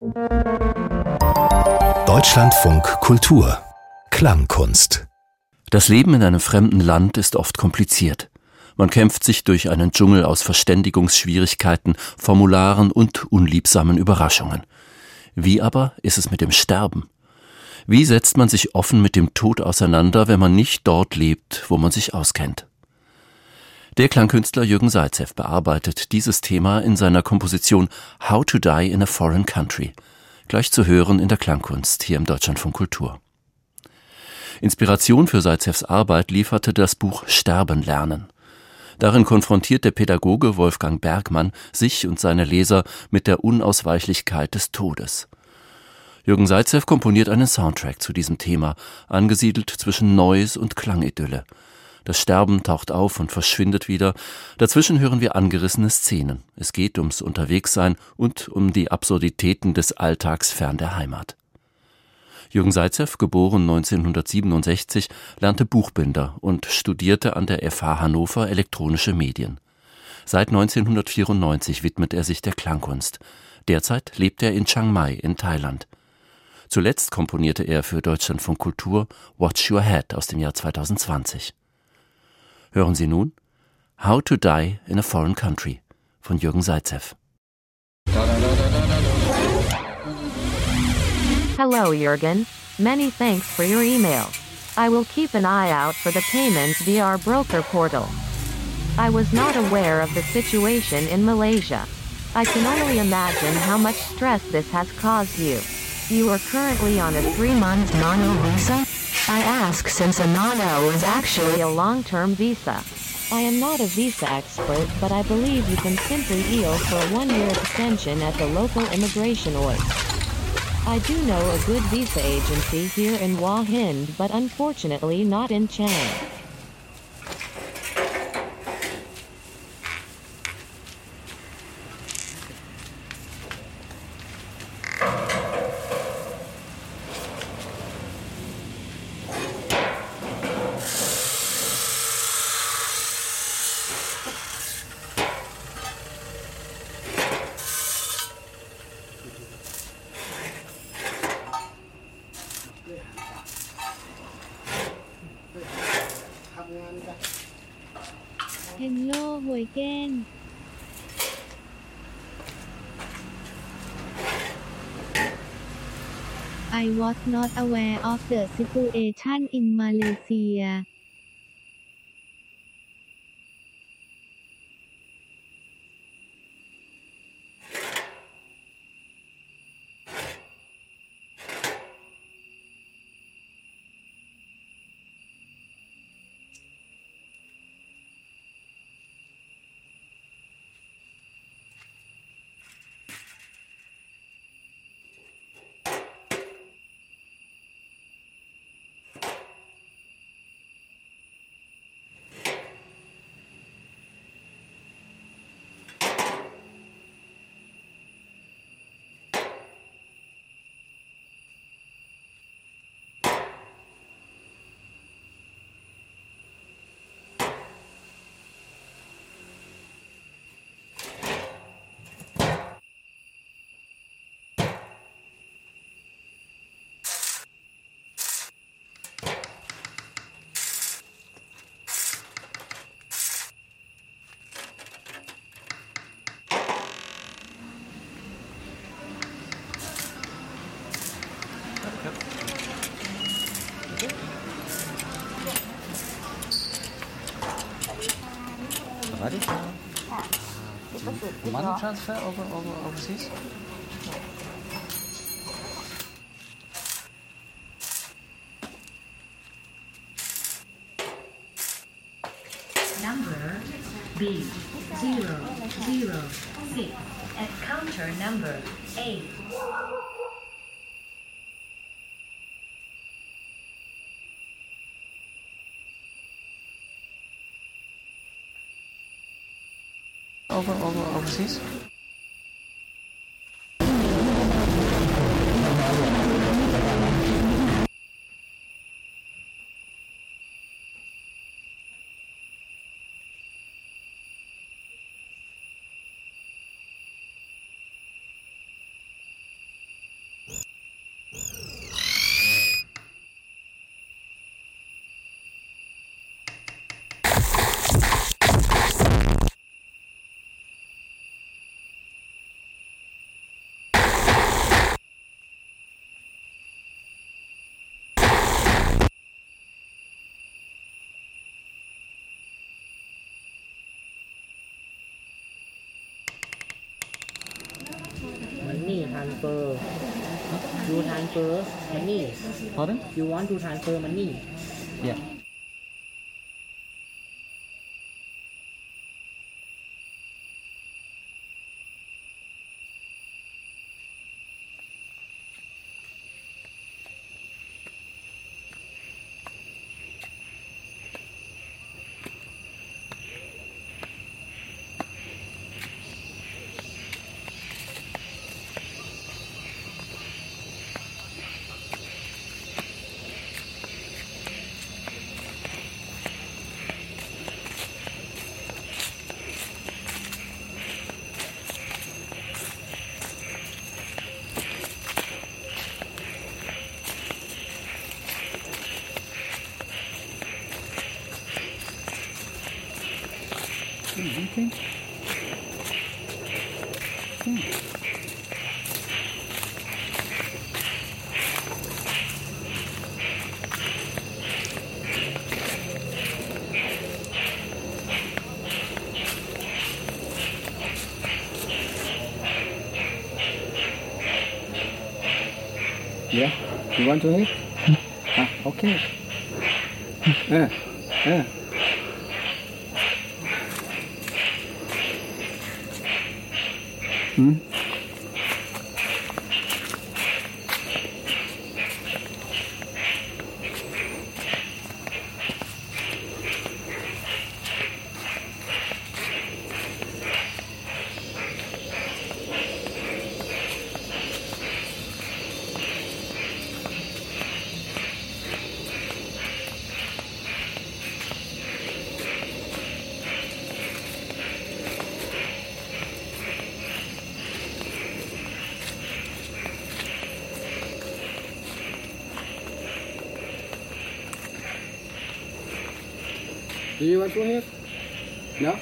Deutschlandfunk Kultur Klangkunst. Das Leben in einem fremden Land ist oft kompliziert. Man kämpft sich durch einen Dschungel aus Verständigungsschwierigkeiten, Formularen und unliebsamen Überraschungen. Wie aber ist es mit dem Sterben? Wie setzt man sich offen mit dem Tod auseinander, wenn man nicht dort lebt, wo man sich auskennt? Der Klangkünstler Jürgen Zaitsev bearbeitet dieses Thema in seiner Komposition How to Die in a Foreign Country, gleich zu hören in der Klangkunst hier im Deutschlandfunk Kultur. Inspiration für Zaitsevs Arbeit lieferte das Buch Sterben lernen. Darin konfrontiert der Pädagoge Wolfgang Bergmann sich und seine Leser mit der Unausweichlichkeit des Todes. Jürgen Zaitsev komponiert einen Soundtrack zu diesem Thema, angesiedelt zwischen Noise und Klangidylle. Das Sterben taucht auf und verschwindet wieder. Dazwischen hören wir angerissene Szenen. Es geht ums Unterwegssein und um die Absurditäten des Alltags fern der Heimat. Jürgen Zaitsev, geboren 1967, lernte Buchbinder und studierte an der FH Hannover elektronische Medien. Seit 1994 widmet er sich der Klangkunst. Derzeit lebt er in Chiang Mai in Thailand. Zuletzt komponierte er für Deutschlandfunk Kultur Watch Your Head aus dem Jahr 2020. Hören Sie nun How to Die in a Foreign Country von Jürgen Zaitsev. Hello, Jürgen. Many thanks for your email. I will keep an eye out for the payments via our broker portal. I was not aware of the situation in Malaysia. I can only imagine how much stress this has caused you. You are currently on a 3-month NANO visa? I ask since a NANO is actually a long-term visa. I am not a visa expert, but I believe you can simply deal for a 1-year extension at the local immigration org. I do know a good visa agency here in Hua Hin, but unfortunately not in Chang. Hello, Hoi Ken. I was not aware of the situation in Malaysia. Ready? Money transfer overseas? Number B006 at counter number 8. Overseas? transfer. You transfer money. Pardon? You want to transfer money. Yeah. Okay. Yeah, you want to eat? Okay. Do you want to have? No?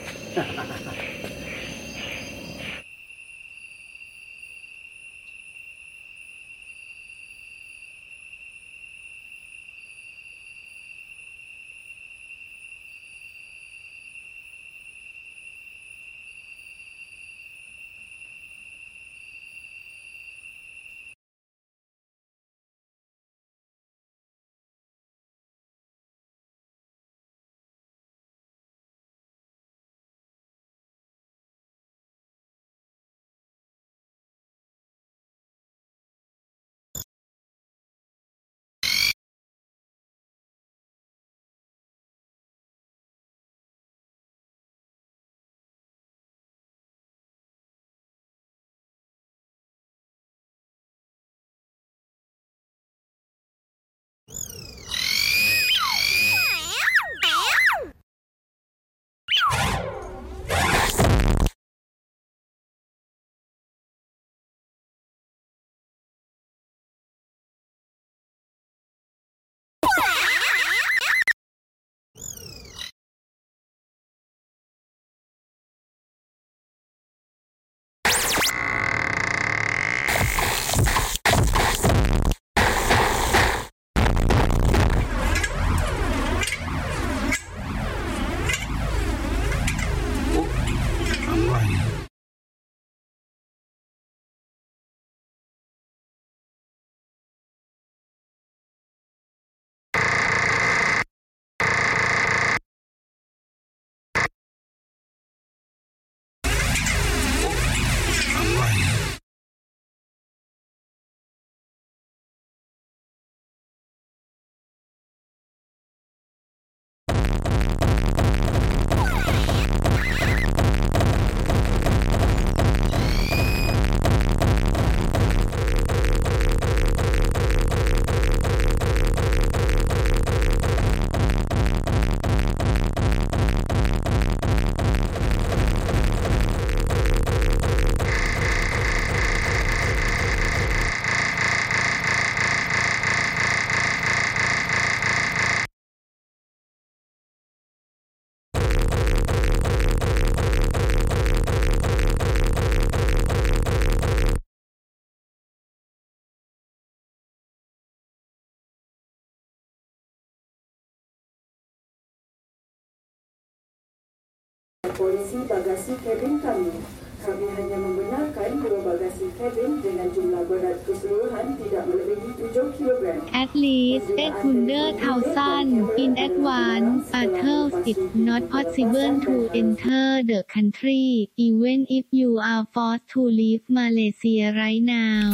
Polisi bagasi cabin kami. Kami hanya membenarkan bahwa bagasi At least 800,000 in advance Arthur, it's not possible to enter the country, even if you are forced to leave Malaysia right now.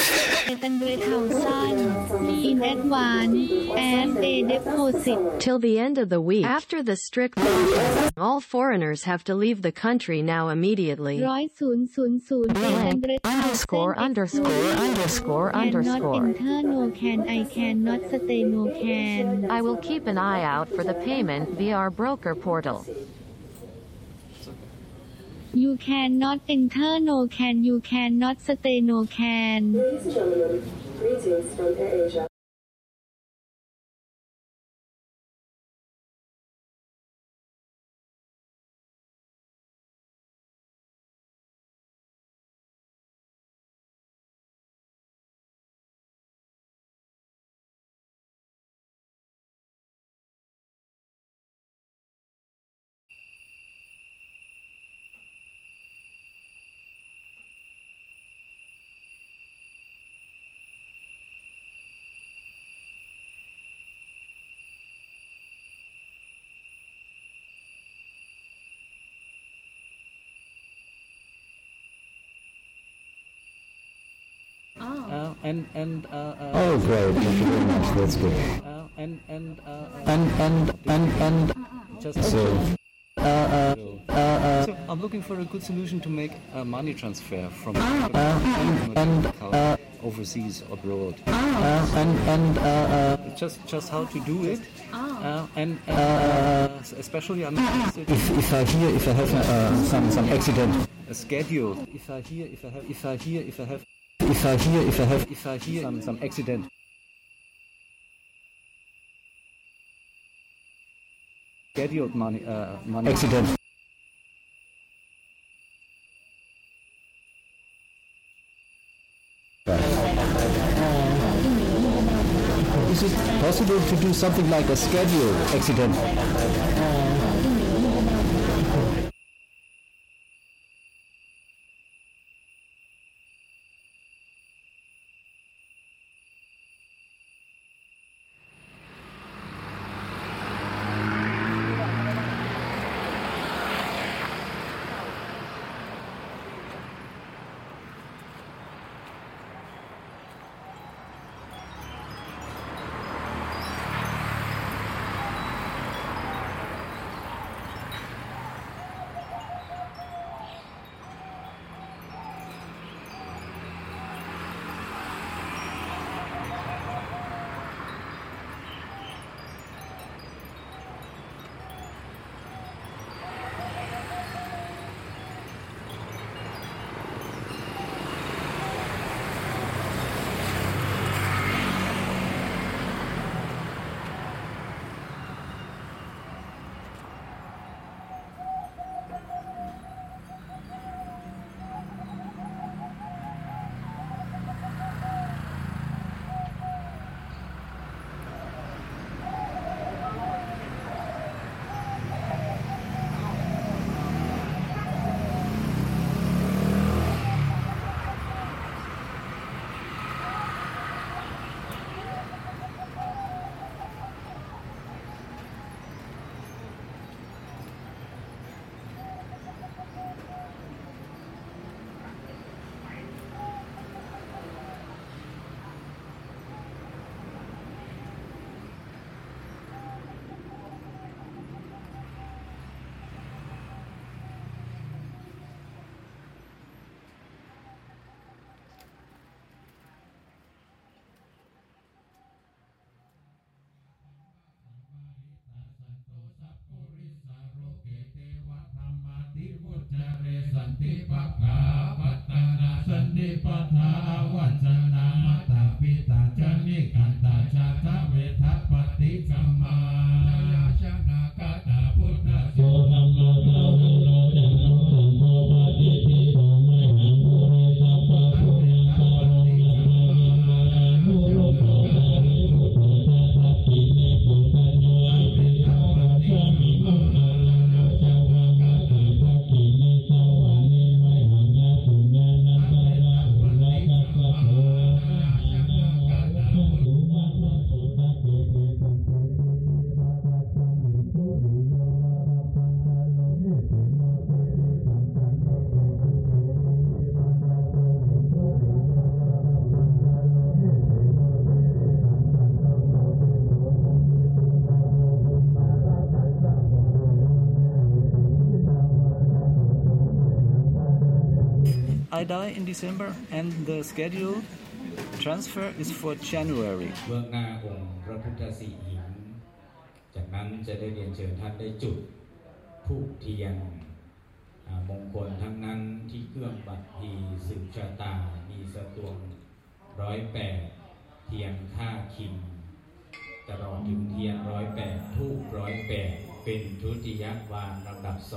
800,000 in advance and a deposit. Till the end of the week. After the strict lockdown, all foreigners have to leave the country now immediately. 100,000 underscore. Cannot enter, no can, I cannot stay, no can. I will keep an eye out for the payment via our broker portal. You cannot enter, no can, you cannot stay, no can. Greetings from AirAsia. Oh, great! Thank you very much. That's good. So I'm looking for a good solution to make a money transfer from overseas abroad. Just how to do it. Especially I'm interested If I have some accident. a schedule. If I hear Some accident. scheduled money Accident. Is it possible to do something like a schedule accident? I die in December, and the scheduled transfer is for January. เบื้องหน้าองค์พระพุทธสีหิงจากนั้นจะได้เรียนเชิญท่านได้จุดธูปเทียนมงคลทั้งนั้นที่เครื่องบัตรพีสืบชะตามีสตวง108เทียนค่าคิมตลอดถึงเทียน108ธูป108เป็นทุติยวาระลำดับ2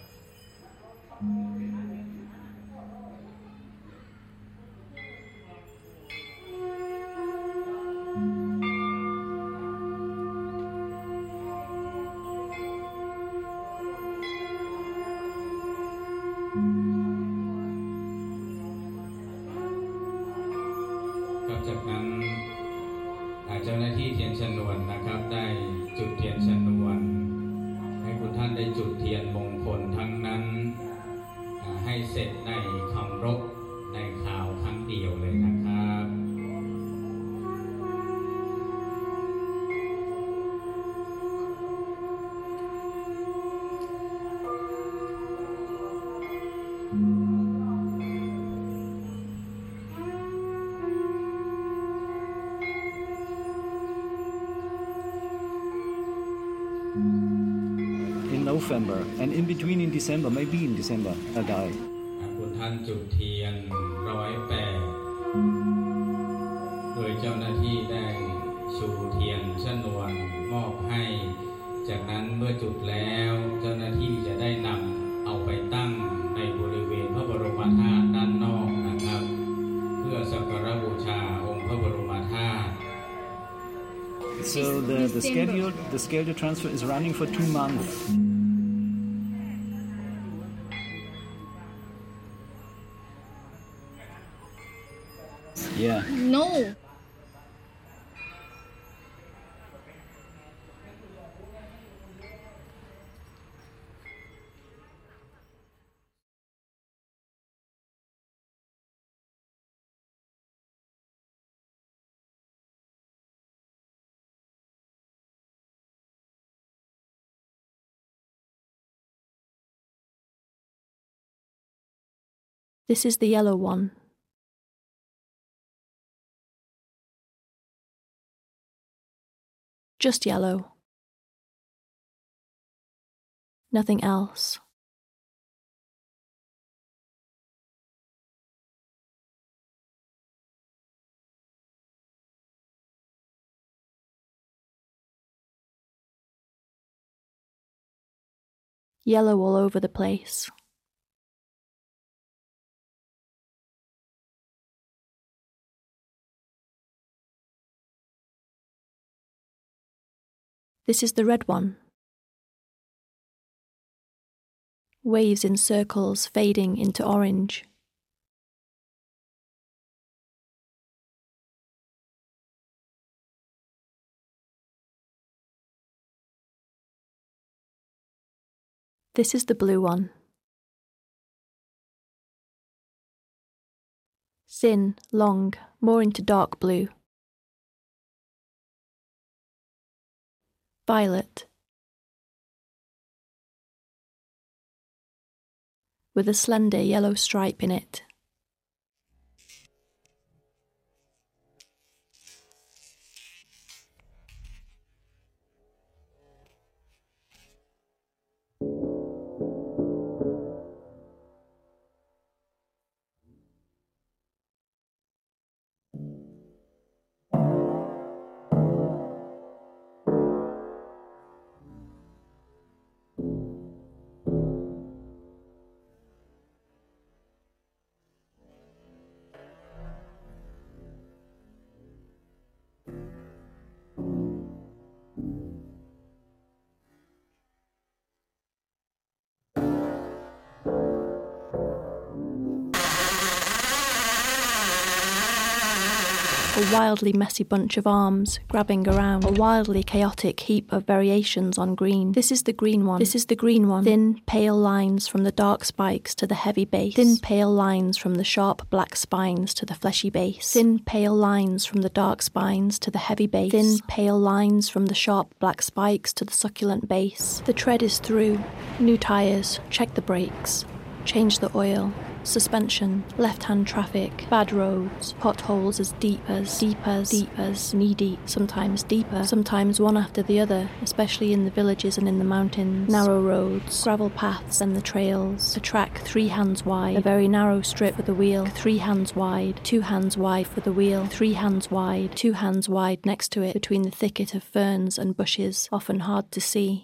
จากนั้นเจ้าหน้าที่เทียนชนวนนะครับได้จุดเทียนชนวนให้คุณท่านได้จุดเทียนมงคลทั้งนั้นให้เสร็จในคำรบในข่าวครั้งเดียวเลยนะครับ November, and in between in December, maybe in December, I die. คุณท่านจุดเทียน108โดยเจ้าหน้าที่ได้ชูเทียนชนวนมอบให้จากนั้นเมื่อจุดแล้วเจ้าหน้าที่จะได้นำเอาไปตั้งในบริเวณพระบรมธาตุด้านนอกนะครับเพื่อสักการะบูชาองค์พระบรมธาตุ So the scheduled transfer is running for 2 months. Yeah. No. This is the yellow one. Just yellow. Nothing else. Yellow all over the place. This is the red one. Waves in circles fading into orange. This is the blue one. Thin, long, more into dark blue. Violet. With a slender yellow stripe in it. A wildly messy bunch of arms grabbing around, a wildly chaotic heap of variations on green. This is the green one. This is the green one. Thin, pale lines from the dark spikes to the heavy base. Thin, pale lines from the sharp black spines to the fleshy base. Thin, pale lines from the dark spines to the heavy base. Thin, pale lines from the sharp black spikes to the succulent base. The tread is through. New tyres. Check the brakes. Change the oil. suspension, left-hand traffic, bad roads, potholes as deep as, knee-deep, sometimes deeper, sometimes one after the other, especially in the villages and in the mountains, narrow roads, gravel paths and the trails, a track 3 hands wide, a very narrow strip with a wheel, 3 hands wide, 2 hands wide for the wheel, 3 hands wide, 2 hands wide next to it between the thicket of ferns and bushes, often hard to see.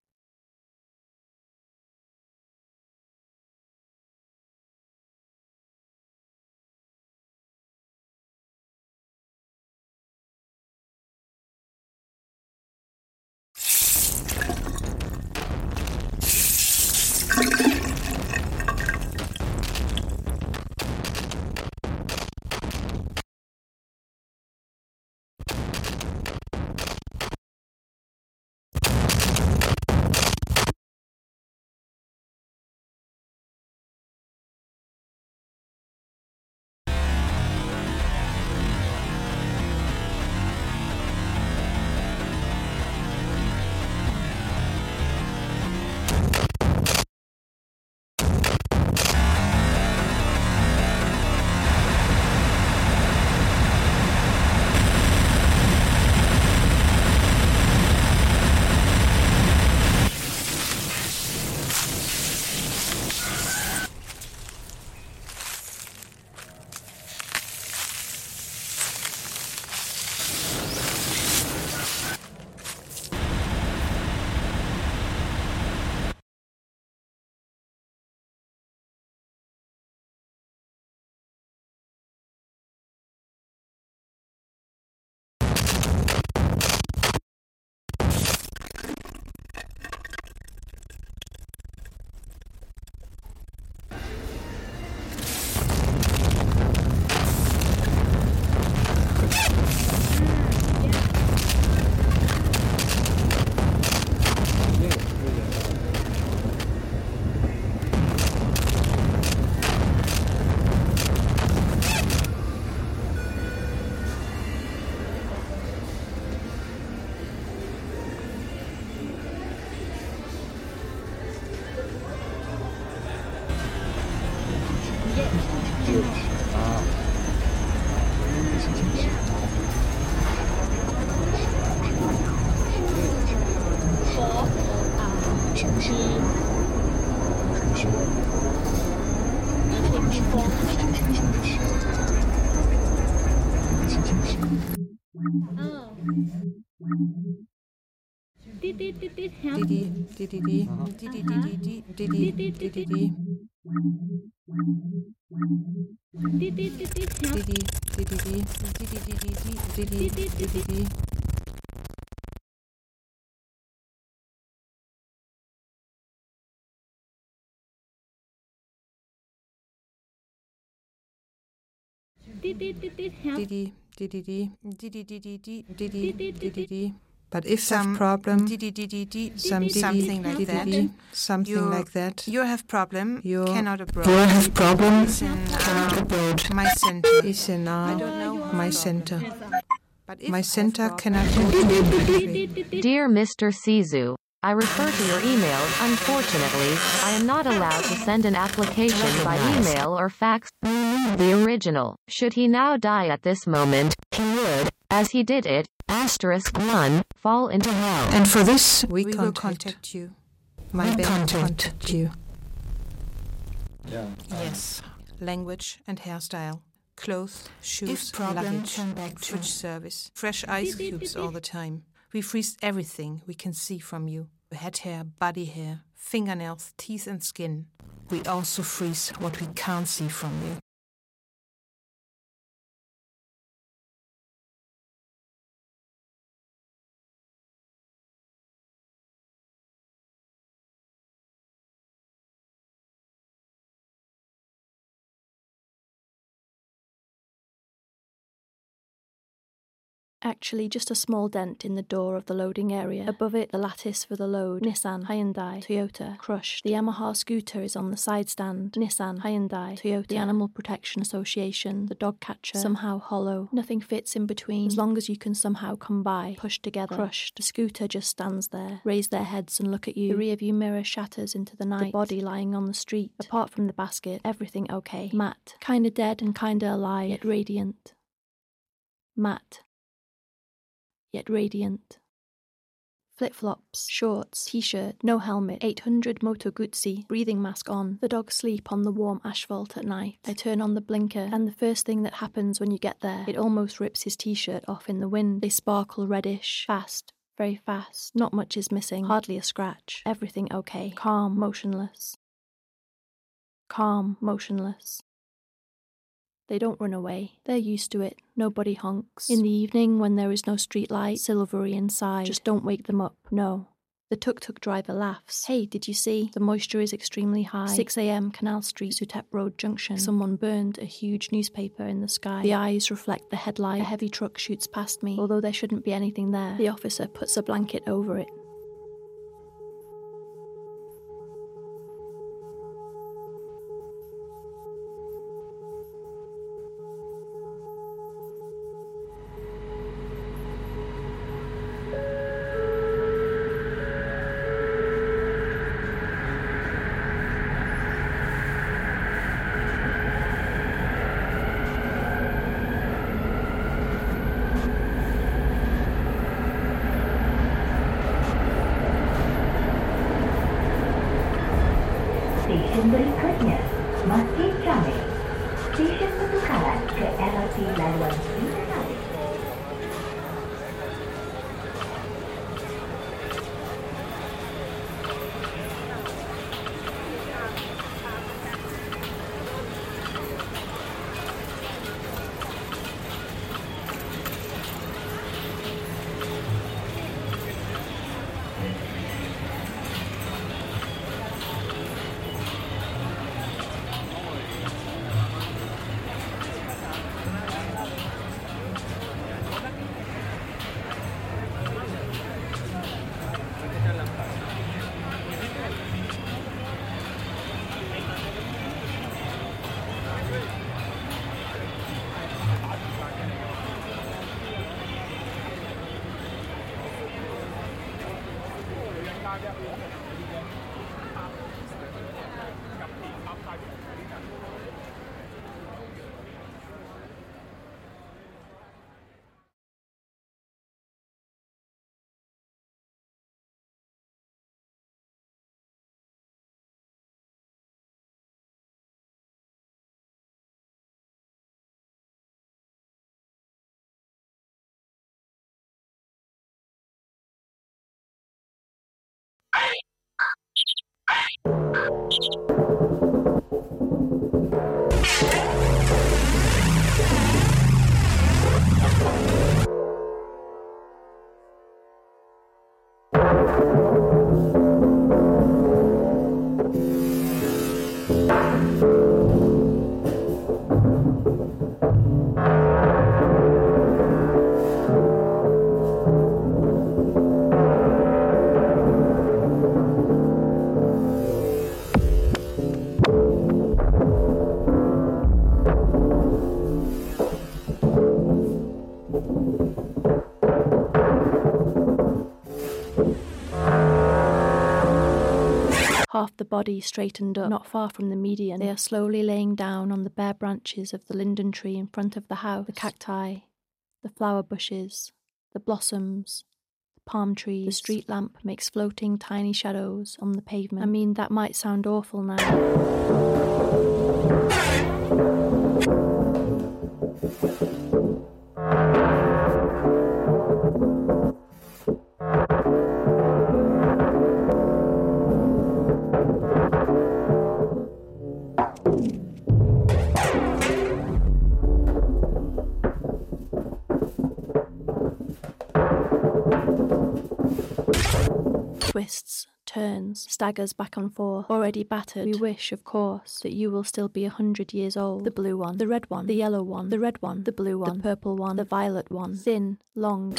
But if some problem, something like that, you have problem, you cannot abroad. You have problem, cannot abroad. My center is in I don't know my center. My center cannot go to. Dear Mr. Sizu, I refer to your emails. Unfortunately, I am not allowed to send an application by email or fax. The original. Should he now die at this moment, he would, as he did it, *1, fall into hell. And for this, we will contact you. My band contact you. Yeah. Yes. Language and hairstyle. Clothes, shoes, luggage, fridge service. Fresh ice cubes all the time. We freeze everything we can see from you. Head hair, body hair, fingernails, teeth and skin. We also freeze what we can't see from you. Actually, just a small dent in the door of the loading area. Above it, the lattice for the load. Nissan, Hyundai, Toyota, crushed. The Yamaha scooter is on the side stand. Nissan, Hyundai, Toyota. The Animal Protection Association, the dog catcher, somehow hollow. Nothing fits in between, as long as you can somehow come by. Pushed together, crushed. The scooter just stands there. Raise their heads and look at you. The rearview mirror shatters into the night. The body lying on the street. Apart from the basket, everything okay. Matt, kinda dead and kinda alive, yet radiant. Matt, yet radiant. Flip-flops, shorts, t-shirt, no helmet, 800 Moto Guzzi, breathing mask on. The dogs sleep on the warm asphalt at night. I turn on the blinker, and the first thing that happens when you get there, it almost rips his t-shirt off in the wind. They sparkle reddish, fast, very fast. Not much is missing, hardly a scratch. Everything okay. Calm, motionless. Calm, motionless. They don't run away. They're used to it. Nobody honks. In the evening, when there is no street light, silvery inside, just don't wake them up. No. The tuk-tuk driver laughs. Hey, did you see? The moisture is extremely high. 6 a.m. Canal Street, Suthep Road Junction. Someone burned a huge newspaper in the sky. The eyes reflect the headlight. A heavy truck shoots past me. Although there shouldn't be anything there, the officer puts a blanket over it. Stesen berikutnya, Masjid Jami. Stesen pertukaran ke LRT laluan Yunani. Half the body straightened up, not far from the median. They are slowly laying down on the bare branches of the linden tree in front of the house, the cacti, the flower bushes, the blossoms, the palm trees. The street lamp makes floating tiny shadows on the pavement. I mean, that might sound awful now. turns, staggers back and forth, already battered. We wish, of course, that you will still be 100 years old. The blue one, the red one, the yellow one, the red one, the blue one, the purple one, the violet one, thin, long.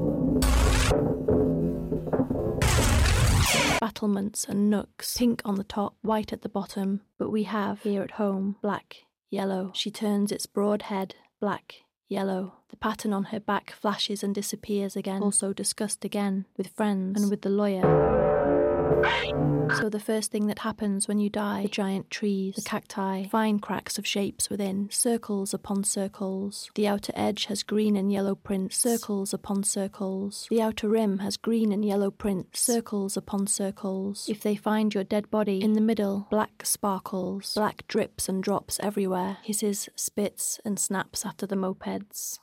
Battlements and nooks, pink on the top, white at the bottom, but we have, here at home, black, yellow. She turns its broad head, black, yellow. The pattern on her back flashes and disappears again, also discussed again, with friends and with the lawyer. So the first thing that happens when you die, the giant trees, the cacti, fine cracks of shapes within, circles upon circles. The outer edge has green and yellow prints, circles upon circles. The outer rim has green and yellow prints, circles upon circles. If they find your dead body, in the middle, black sparkles, black drips and drops everywhere, hisses, spits and snaps after the mopeds.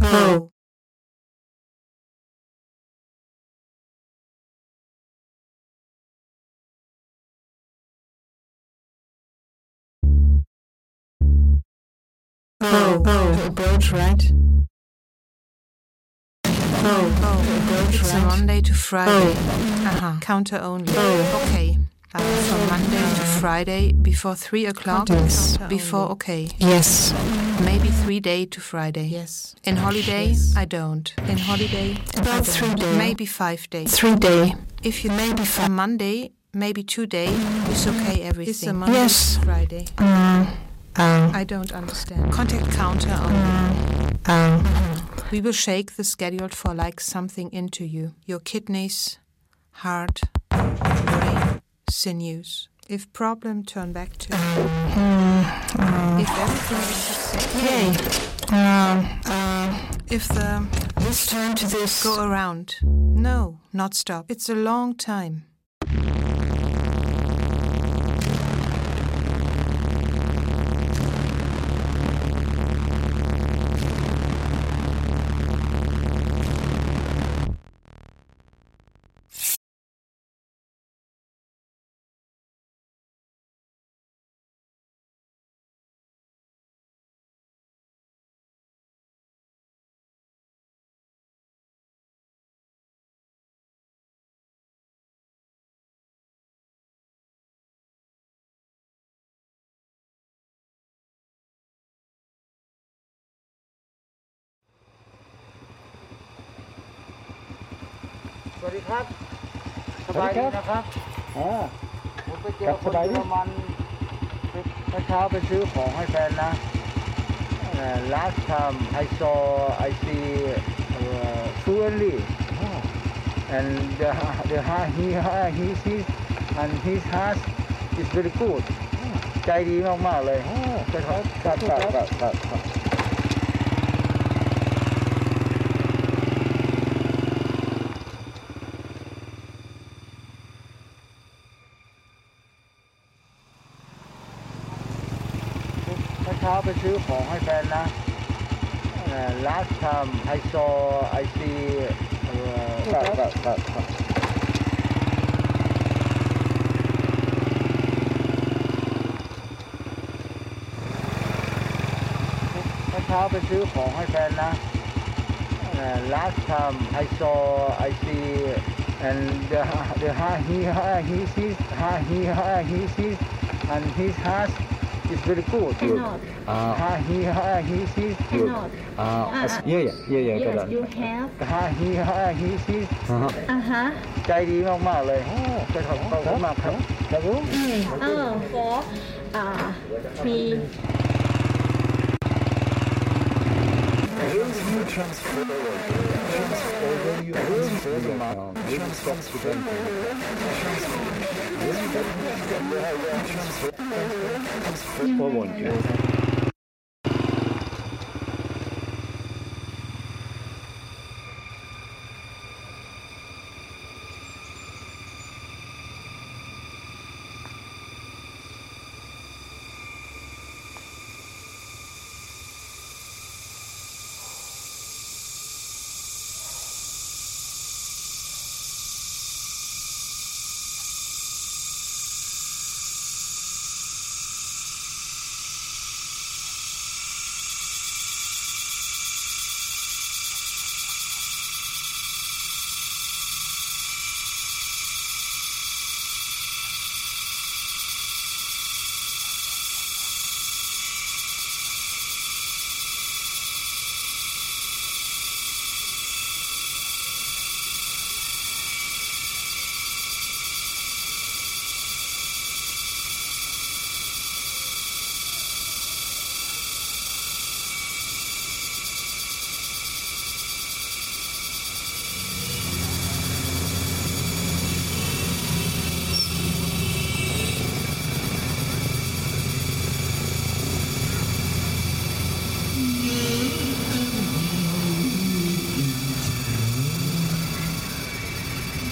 Pro. Pro. Approach right. It's a Monday to Friday. Counter only. Okay. From Monday to Friday before 3 o'clock. Yes. Before okay. Yes. Maybe 3 day to Friday. Yes. In holiday, Yes. I don't. In holiday, About I don't. 3 day. Maybe 5 days. 3 day. If you maybe for Monday, maybe 2 day, it's okay everything. It's a Monday Yes. to Friday. I don't understand. Contact counter only. We will shake the schedule for like something into you. Your kidneys, heart, brain, sinews. If problem, turn back to. If everything is successful. If the This turn to this. go around. No, not stop. It's a long time. สวัสดีครับสบายดีนะครับผมไปเจอคนเยอรมันเมื่อเช้าไปซื้อของให้แฟนนะ last time I see fluently and he sees and his heart is very good ใจดีมากๆเลยครับเช้าไปซื้อของให้แฟนนะ last time I seeเช้าไปซื้อของให้แฟนนะ last time I see and he sees and his heart is very good. He sees good. Yeah. Yes, you have. He sees ใจดีมากๆเลยขอบคุณมากครับครับผม For 3.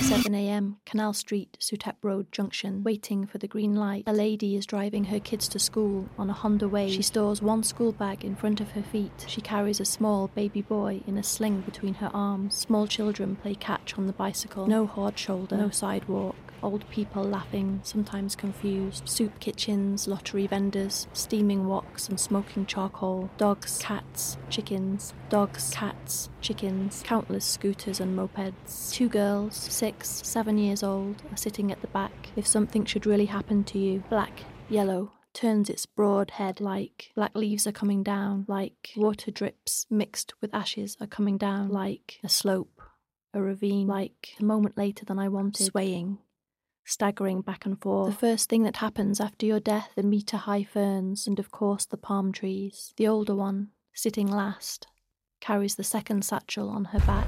7 a.m, Canal Street, Suthep Road Junction. Waiting for the green light. A lady is driving her kids to school on a Honda Wave. She stores one school bag in front of her feet. She carries a small baby boy in a sling between her arms. Small children play catch on the bicycle. No hard shoulder, no sidewalk. Old people laughing, sometimes confused. Soup kitchens, lottery vendors, steaming woks and smoking charcoal. Dogs, cats, chickens. Dogs, cats, chickens. Countless scooters and mopeds. 2 girls, 6, 7 years old, are sitting at the back. If something should really happen to you. Black, yellow, turns its broad head like black leaves are coming down, like water drips mixed with ashes are coming down, like a slope, a ravine, like a moment later than I wanted, swaying, staggering back and forth. The first thing that happens after your death, the metre-high ferns and of course the palm trees. The older one, sitting last, carries the second satchel on her back.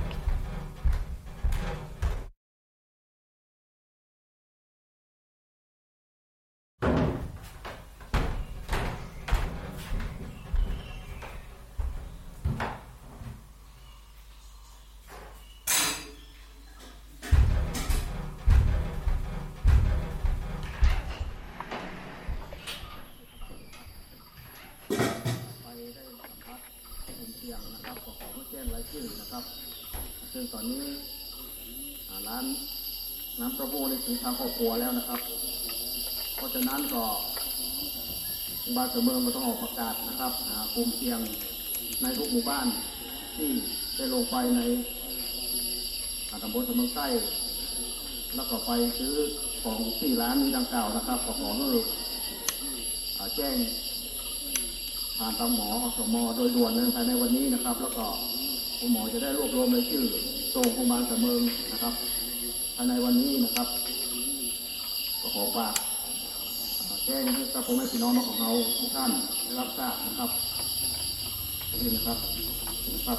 ซึ่งตอนนี้ร้านน้ำเต้าหู้ในถึงทางครอบครัวแล้วนะครับเพราะฉะนั้นก็บ้านเมืองก็ต้องออกประกาศนะครับกลุ่มเสี่ยงในทุกหมู่บ้านที่ได้ลงไปในตำบลเมืองใต้แล้วก็ไปซื้อของที่ร้านนี้ดังกล่าวนะครับขอให้แจ้งผ่านทางหมอสม.โดยด่วนภายในวันนี้นะครับแล้วก็คุณหมอจะได้รวบรวมรายชื่อส่งโรงพยาบาลเสมิงนะครับภายในวันนี้นะครับก็ขอฝากแจ้งให้กับพ่อแม่พี่น้องของเราทุกท่านได้รับทราบนะครับนี่นะครับ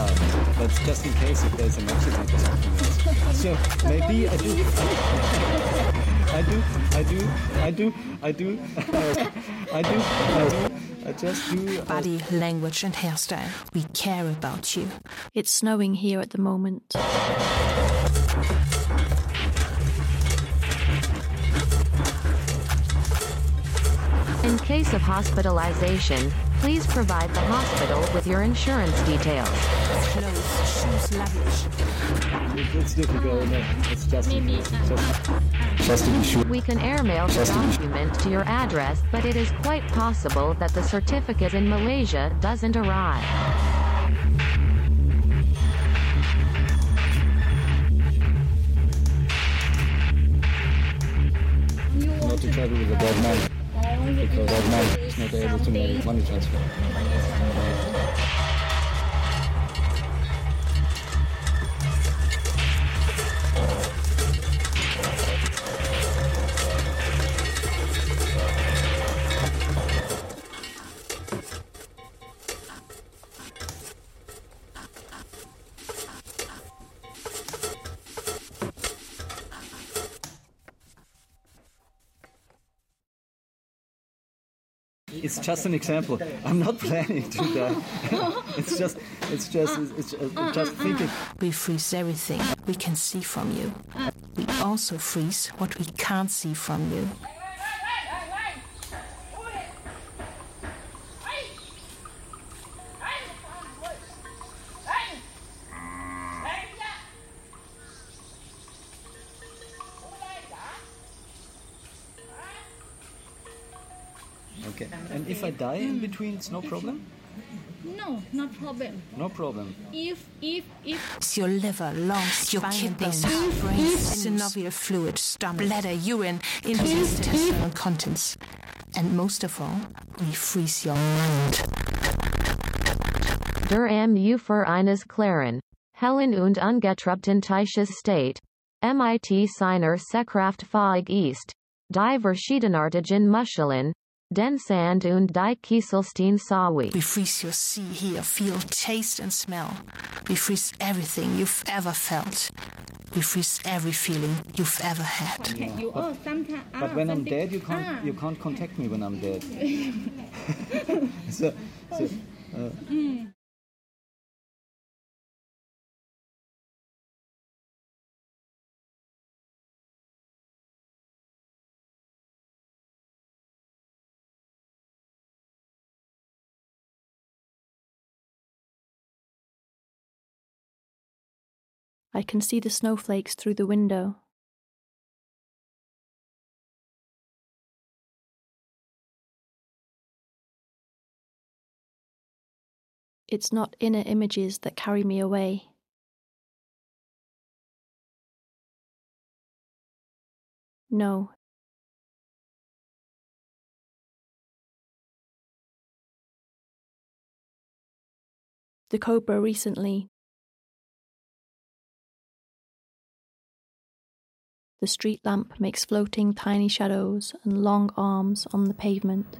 Yeah, but just in case if there's an accident or something else. So maybe I do. I just do. Body, language and hairstyle. We care about you. It's snowing here at the moment. In case of hospitalization, please provide the hospital with your insurance details. Clothes, shoes, luggage. It's difficult. It's just to be sure. We can airmail the document to your address, but it is quite possible that the certificate in Malaysia doesn't arrive. Not to travel with a dead man, because that man is not able to make money transfer. It's just an example. I'm not planning to die. It's just thinking. We freeze everything we can see from you. We also freeze what we can't see from you. Okay. And if I die in between, it's no problem? No, no problem. No problem. If It's your liver, lungs, your kidneys, brain, synovial fluid, stomach, bladder, urine, intestinal contents. And most of all, we freeze your mind. Der für eines klaren, Helen und ungetrübten State, MIT seiner Sekraftfähig ist, die verschiedenartigen Muscheln, den Sand und die Kieselstein Sawi. We freeze your see, hear, feel, taste and smell. We freeze everything you've ever felt. We freeze every feeling you've ever had. But when I'm dead, you can't contact me when I'm dead. I can see the snowflakes through the window. It's not inner images that carry me away. No. The cobra recently. The street lamp makes floating tiny shadows and long arms on the pavement.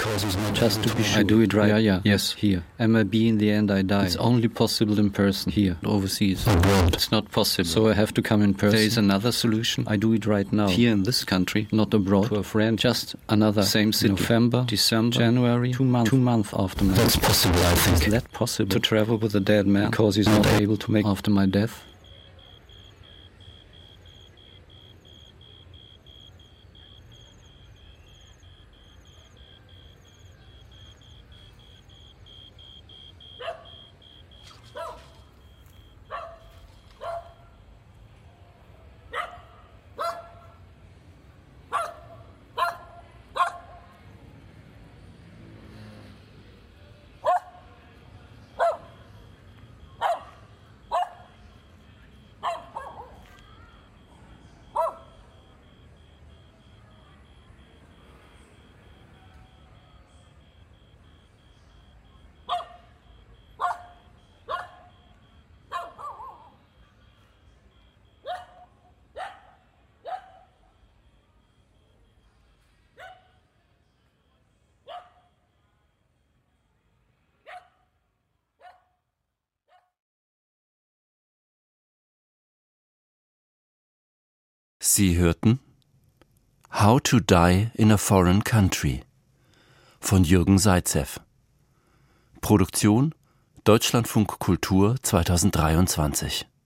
Just to be sure. I do it right. Yeah. Yes, here. MIB in the end I die. It's only possible in person. Here, overseas. Abroad. It's not possible. So I have to come in person. There is another solution. I do it right now. Here in this country, not abroad. To a friend. Just another. Same city. November, December, January. 2 months after my death. That's possible, I think. Is that possible? To travel with a dead man because he's not able to make after my death? Sie hörten How to Die in a Foreign Country von Jürgen Zaitsev. Produktion Deutschlandfunk Kultur 2023.